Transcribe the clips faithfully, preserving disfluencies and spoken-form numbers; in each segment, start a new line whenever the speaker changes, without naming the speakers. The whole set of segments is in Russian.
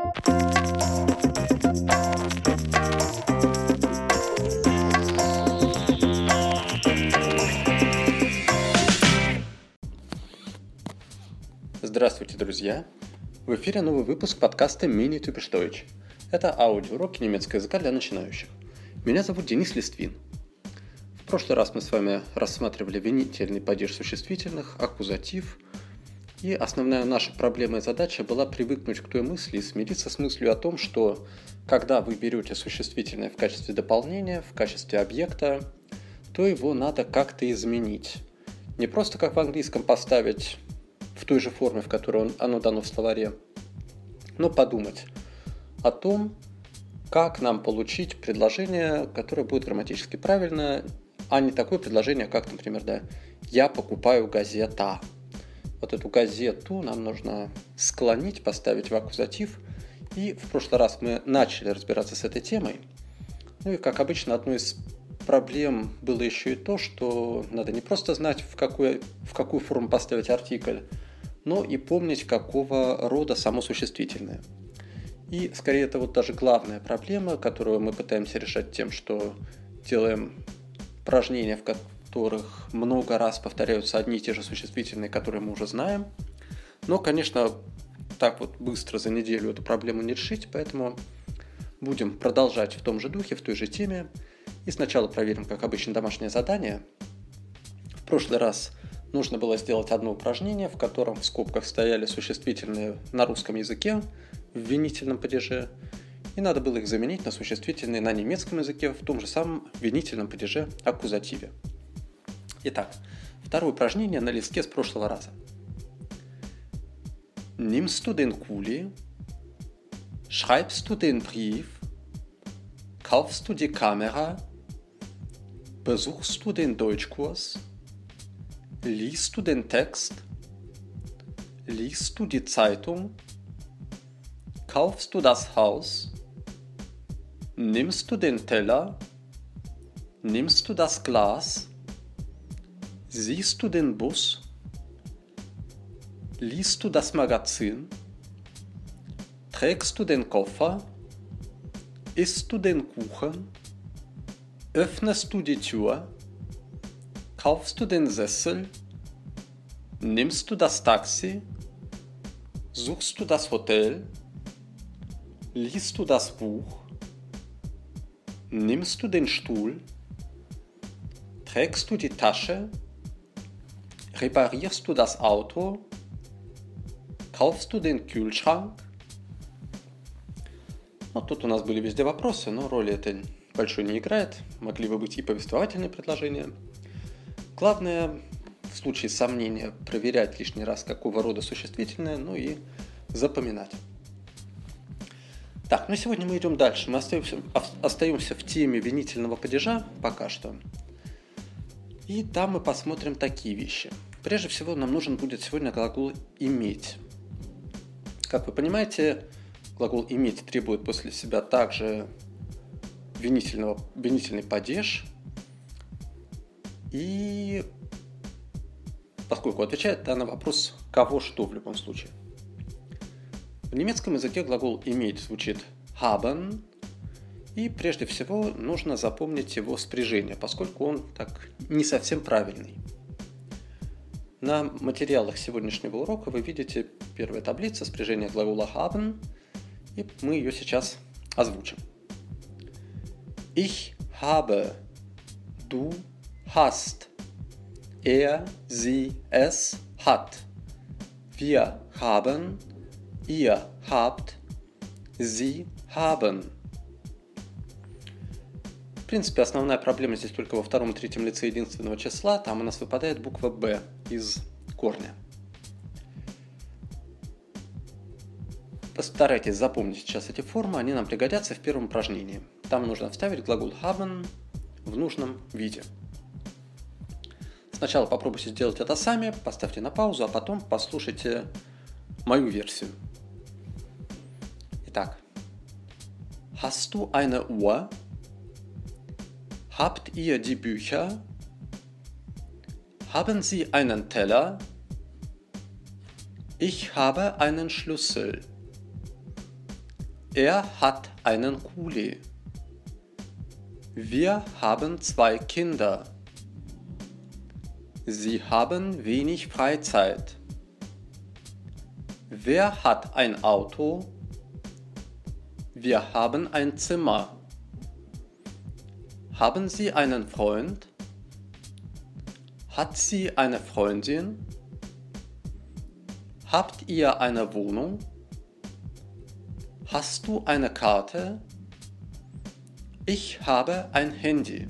Здравствуйте, друзья! В эфире новый выпуск подкаста Mini Typisch Deutsch. Это аудиоуроки немецкого языка для начинающих. Меня зовут Денис Листвин. В прошлый раз мы с вами рассматривали винительный падеж существительных, аккузатив. И основная наша проблема и задача была привыкнуть к той мысли и смириться с мыслью о том, что когда вы берете существительное в качестве дополнения, в качестве объекта, то его надо как-то изменить. Не просто как в английском поставить в той же форме, в которой оно дано в словаре, но подумать о том, как нам получить предложение, которое будет грамматически правильно, а не такое предложение, как, например, да, «я покупаю газета». Вот эту газету нам нужно склонить, поставить в аккузатив. И в прошлый раз мы начали разбираться с этой темой. Ну и, как обычно, одной из проблем было еще и то, что надо не просто знать, в какую, в какую форму поставить артикль, но и помнить, какого рода само существительное. И, скорее, это вот даже главная проблема, которую мы пытаемся решать тем, что делаем упражнения, в которых много раз повторяются одни и те же существительные, которые мы уже знаем. Но, конечно, так вот быстро за неделю эту проблему не решить, поэтому будем продолжать в том же духе, в той же теме. И сначала проверим, как обычно, домашнее задание. В прошлый раз нужно было сделать одно упражнение, в котором в скобках стояли существительные на русском языке в винительном падеже, и надо было их заменить на существительные на немецком языке в том же самом винительном падеже аккузативе. Итак, второе упражнение на листке с прошлого раза. Nimmst du den Kuli? Schreibst du den Brief? Kaufst du die Kamera? Besuchst du den Deutschkurs? Liest du den Text? Liest du die Zeitung? Kaufst du das Haus? Nimmst du den Teller? Nimmst du das Glas? Siehst du den Bus? Liest du das Magazin? Trägst du den Koffer? Isst du den Kuchen? Öffnest du die Tür? Kaufst du den Sessel? Nimmst du das Taxi? Suchst du das Hotel? Liest du das Buch? Nimmst du den Stuhl? Trägst du die Tasche? Reparierst du das Auto? Kaufst du den Kühlschrank? Ну, тут у нас были везде вопросы, но роли это большой не играет. Могли бы быть и повествовательные предложения. Главное, в случае сомнения, проверять лишний раз, какого рода существительное, ну и запоминать. Так, ну сегодня мы идем дальше. Мы остаемся, остаемся в теме винительного падежа пока что. И там мы посмотрим такие вещи. Прежде всего, нам нужен будет сегодня глагол «иметь». Как вы понимаете, глагол «иметь» требует после себя также винительного, винительный падеж. И поскольку отвечает да, на вопрос «кого что» в любом случае. В немецком языке глагол «иметь» звучит haben, и прежде всего нужно запомнить его спряжение, поскольку он так не совсем правильный. На материалах сегодняшнего урока вы видите первая таблица спряжения глагола haben, и мы ее сейчас озвучим. Ich habe, du hast, er, sie, es hat, wir haben, ihr habt, sie haben. В принципе, основная проблема здесь только во втором и третьем лице единственного числа. Там у нас выпадает буква «б» из корня. Постарайтесь запомнить сейчас эти формы, они нам пригодятся в первом упражнении. Там нужно вставить глагол haben в нужном виде. Сначала попробуйте сделать это сами, поставьте на паузу, а потом послушайте мою версию. Итак. Hast du eine Uhr? Habt ihr die Bücher? Haben Sie einen Teller? Ich habe einen Schlüssel. Er hat einen Kuli. Wir haben zwei Kinder. Sie haben wenig Freizeit. Wer hat ein Auto? Wir haben ein Zimmer. Haben Sie einen Freund? Hat sie eine Freundin? Habt ihr eine Wohnung? Hast du eine Karte? Ich habe ein Handy.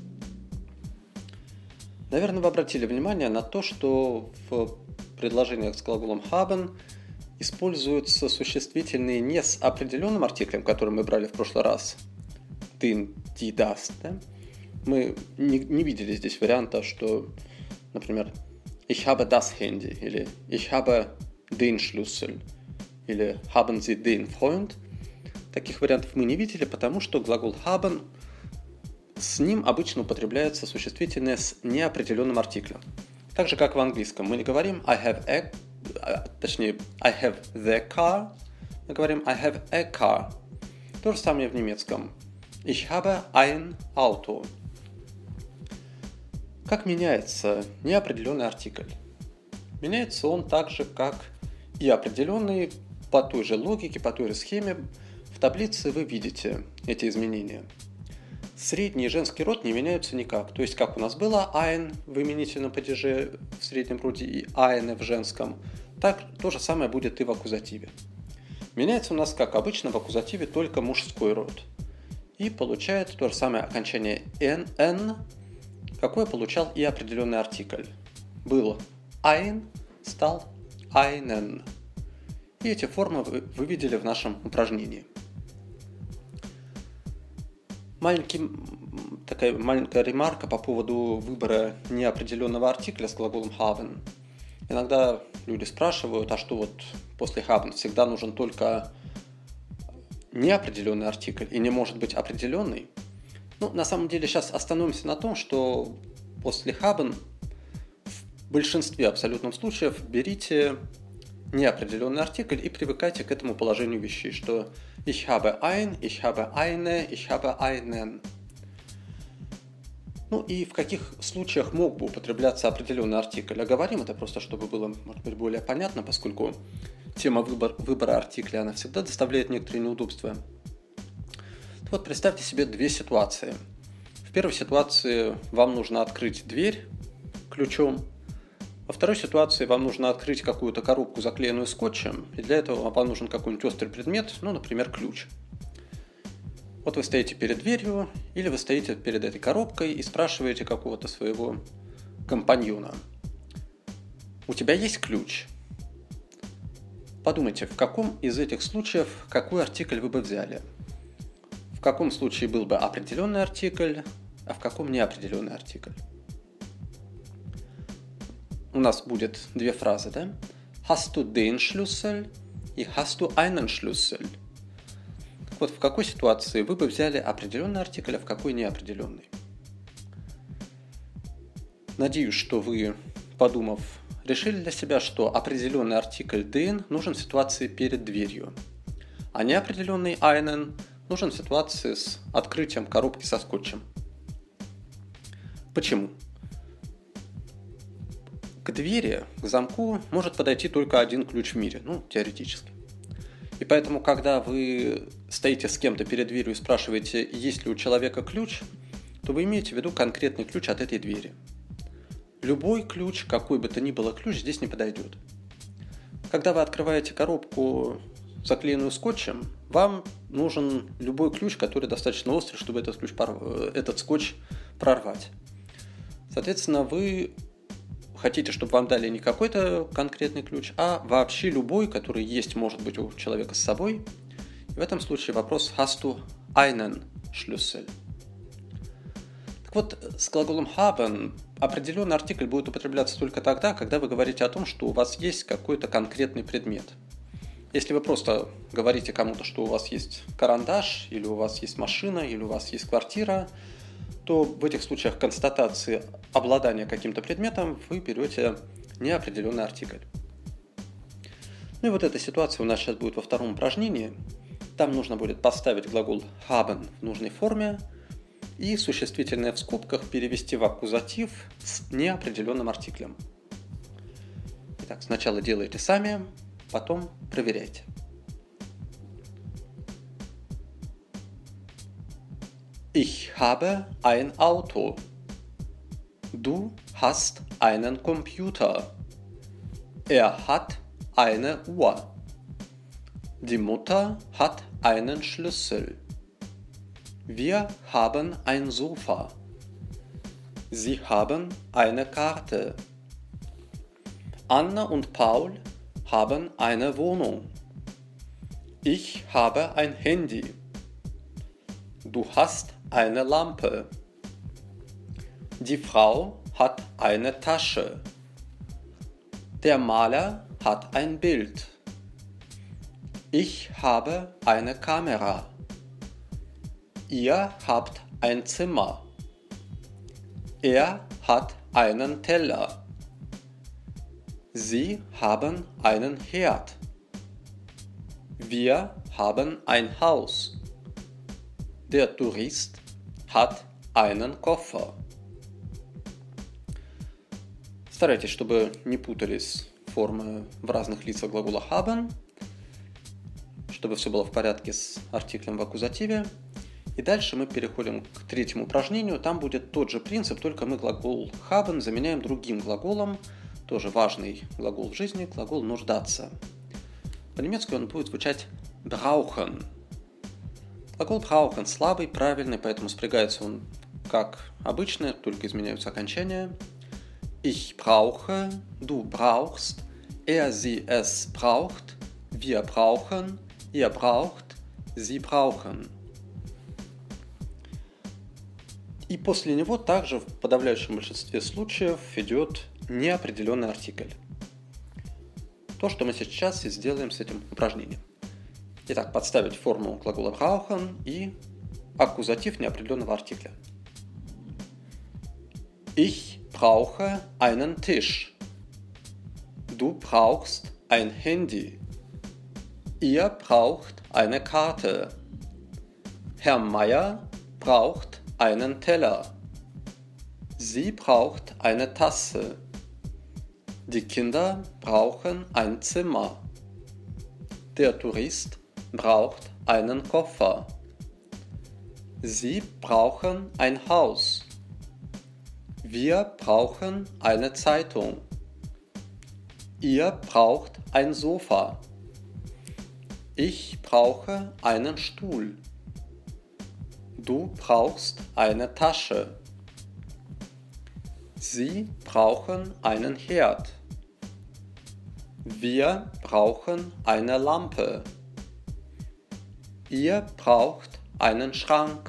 Наверное, вы обратили внимание на то, что в предложениях с глаголом haben используются существительные не с определенным артиклем, который мы брали в прошлый раз, den, die, das. Да? Мы не, не видели здесь варианта, что, например, ich habe das Handy или ich habe den Schlüssel или haben Sie den Freund. Таких вариантов мы не видели, потому что глагол haben, с ним обычно употребляется существительное с неопределенным артиклем. Так же, как в английском. Мы не говорим I have a, точнее, I have the car, мы говорим I have a car. То же самое в немецком. Ich habe ein Auto. Как меняется неопределенный артикль? Меняется он так же, как и определенный, по той же логике, по той же схеме. В таблице вы видите эти изменения. Средний и женский род не меняются никак. То есть, как у нас было ein в именительном падеже в среднем роде и eine в женском, так то же самое будет и в аккузативе. Меняется у нас, как обычно, в аккузативе только мужской род. И получает то же самое окончание n, какое получал и определенный артикль. Был ein, стал einen. И эти формы вы, вы видели в нашем упражнении. Маленький, такая маленькая ремарка по поводу выбора неопределенного артикля с глаголом haben. Иногда люди спрашивают, а что вот после haben всегда нужен только неопределенный артикль и не может быть определенный? Ну, на самом деле, сейчас остановимся на том, что после haben в большинстве абсолютных случаев берите неопределенный артикль и привыкайте к этому положению вещей, что ich habe ein, ich habe eine, ich habe einen. Ну и в каких случаях мог бы употребляться определенный артикль? Оговорим это просто, чтобы было, может быть, более понятно, поскольку тема выбор, выбора артикля, она всегда доставляет некоторые неудобства. Вот представьте себе две ситуации. В первой ситуации вам нужно открыть дверь ключом. Во второй ситуации вам нужно открыть какую-то коробку, заклеенную скотчем, и для этого вам нужен какой-нибудь острый предмет, ну, например, ключ. Вот вы стоите перед дверью, или вы стоите перед этой коробкой и спрашиваете какого-то своего компаньона. У тебя есть ключ? Подумайте, в каком из этих случаев какой артикль вы бы взяли? В каком случае был бы определенный артикль, а в каком неопределенный артикль? У нас будет две фразы, да? Hast du den Schlüssel и hast du einen Schlüssel? Так вот, в какой ситуации вы бы взяли определенный артикль, а в какой неопределенный? Надеюсь, что вы, подумав, решили для себя, что определенный артикль den нужен в ситуации перед дверью, а неопределенный einen нужен в ситуации с открытием коробки со скотчем. Почему? К двери, к замку может подойти только один ключ в мире, ну, теоретически. И поэтому, когда вы стоите с кем-то перед дверью и спрашиваете, есть ли у человека ключ, то вы имеете в виду конкретный ключ от этой двери. Любой ключ, какой бы то ни было ключ, здесь не подойдет. Когда вы открываете коробку, заклеенную скотчем, вам нужен любой ключ, который достаточно острый, чтобы этот, ключ порв... этот скотч прорвать. Соответственно, вы хотите, чтобы вам дали не какой-то конкретный ключ, а вообще любой, который есть, может быть, у человека с собой. И в этом случае вопрос hast du einen Schlüssel? Так вот, с глаголом haben определенный артикль будет употребляться только тогда, когда вы говорите о том, что у вас есть какой-то конкретный предмет. Если вы просто говорите кому-то, что у вас есть карандаш, или у вас есть машина, или у вас есть квартира, то в этих случаях констатации обладания каким-то предметом вы берете неопределенный артикль. Ну и вот эта ситуация у нас сейчас будет во втором упражнении. Там нужно будет поставить глагол haben в нужной форме и существительное в скобках перевести в аккузатив с неопределенным артиклем. Итак, сначала делайте сами, потом проверяйте. Ich habe ein Auto. Du hast einen Computer. Er hat eine Uhr. Die Mutter hat einen Schlüssel. Wir haben ein Sofa. Sie haben eine Karte. Anna und Paul haben eine Wohnung. Ich habe ein Handy. Du hast eine Lampe. Die Frau hat eine Tasche. Der Maler hat ein Bild. Ich habe eine Kamera. Ihr habt ein Zimmer. Er hat einen Teller. Sie haben einen Herd. Wir haben ein Haus. Der Tourist hat einen Koffer. Старайтесь, чтобы не путались формы в разных лицах глагола haben, чтобы все было в порядке с артиклем в аккузативе. И дальше мы переходим к третьему упражнению. Там будет тот же принцип, только мы глагол haben заменяем другим глаголом, тоже важный глагол в жизни, глагол нуждаться. По-немецки он будет звучать brauchen. Глагол brauchen слабый, правильный, поэтому спрягается он как обычно, только изменяются окончания. Ich brauche, du brauchst, er, sie, es braucht, wir brauchen, ihr braucht, sie brauchen. И после него также в подавляющем большинстве случаев идет неопределенный артикль. То, что мы сейчас и сделаем с этим упражнением. Итак, подставить форму глагола brauchen и аккузатив неопределенного артикля. Ich brauche einen Tisch. Du brauchst ein Handy. Ihr braucht eine Karte. Herr Meier braucht einen Teller. Sie braucht eine Tasse. Die Kinder brauchen ein Zimmer. Der Tourist braucht einen Koffer. Sie brauchen ein Haus. Wir brauchen eine Zeitung. Ihr braucht ein Sofa. Ich brauche einen Stuhl. Du brauchst eine Tasche. Sie brauchen einen Herd. Wir brauchen eine Lampe. Ihr braucht einen Schrank.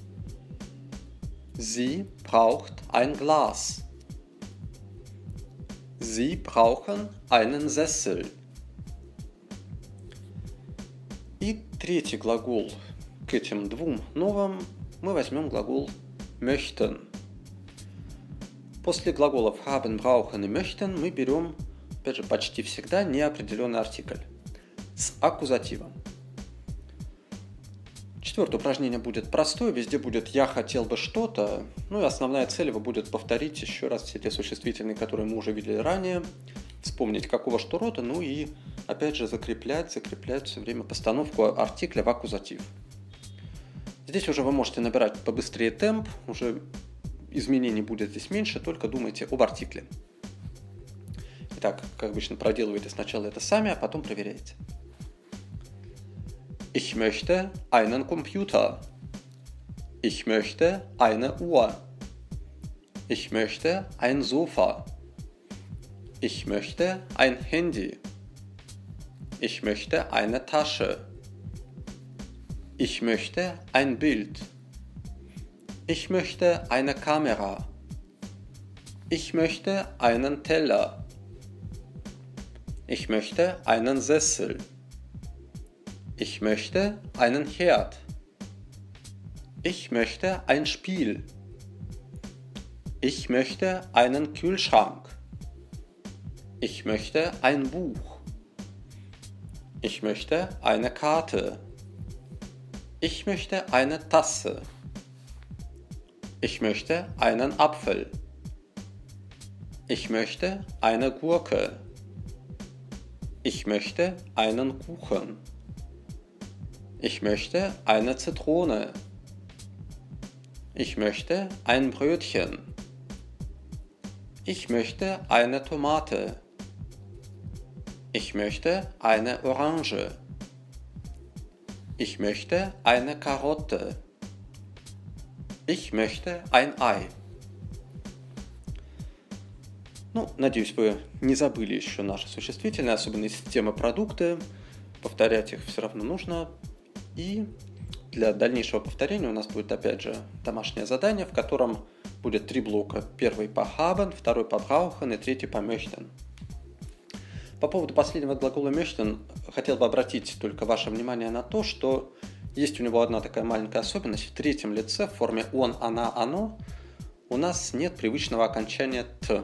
Sie braucht ein Glas. Sie brauchen einen Sessel. И третий глагол к этим двум новым мы возьмем глагол möchten. После глаголов haben, brauchen и möchten мы берем, опять же, почти всегда неопределенный артикль с аккузативом. Четвертое упражнение будет простое, везде будет «я хотел бы что-то», ну и основная цель его будет повторить еще раз все те существительные, которые мы уже видели ранее, вспомнить какого что рода, ну и опять же закреплять, закреплять все время постановку артикля в аккузатив. Здесь уже вы можете набирать побыстрее темп, уже изменений будет здесь меньше, только думайте об артикле. Итак, как обычно, проделывайте сначала это сами, а потом проверяйте. Ich möchte einen Computer. Ich möchte eine Uhr. Ich möchte ein Sofa. Ich möchte ein Handy. Ich möchte eine Tasche. Ich möchte ein Bild. Ich möchte eine Kamera. Ich möchte einen Teller. Ich möchte einen Sessel. Ich möchte einen Herd. Ich möchte ein Spiel. Ich möchte einen Kühlschrank. Ich möchte ein Buch. Ich möchte eine Karte. Ich möchte eine Tasse. Ich möchte einen Apfel. Ich möchte eine Gurke. Ich möchte einen Kuchen. Ich möchte eine Zitrone. Ich möchte ein Brötchen. Ich möchte eine Tomate. Ich möchte eine Orange. Ich möchte eine Karotte. Ich möchte ein Ei. Ну, надеюсь, вы не забыли еще наши существительные, особенно из темы продукты. Повторять их все равно нужно. И для дальнейшего повторения у нас будет, опять же, домашнее задание, в котором будет три блока. Первый по haben, второй по brauchen и третий по möchten. По поводу последнего глагола möchten хотел бы обратить только ваше внимание на то, что есть у него одна такая маленькая особенность. В третьем лице в форме он, она, оно у нас нет привычного окончания т.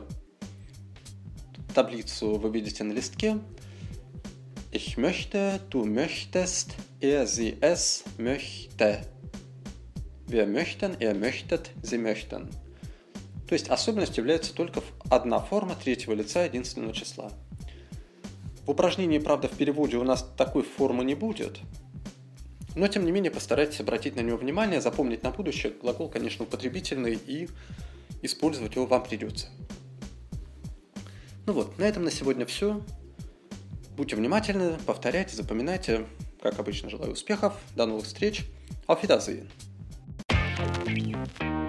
Таблицу вы видите на листке. Ich möchte, du möchtest, er, sie, es möchte. Wir möchten, er möchtet, sie möchten. То есть особенностью является только одна форма третьего лица единственного числа. В упражнении, правда, в переводе у нас такой формы не будет, но, тем не менее, постарайтесь обратить на него внимание, запомнить на будущее. Глагол, конечно, употребительный, и использовать его вам придется. Ну вот, на этом на сегодня все. Будьте внимательны, повторяйте, запоминайте. Как обычно, желаю успехов. До новых встреч. Auf Wiedersehen.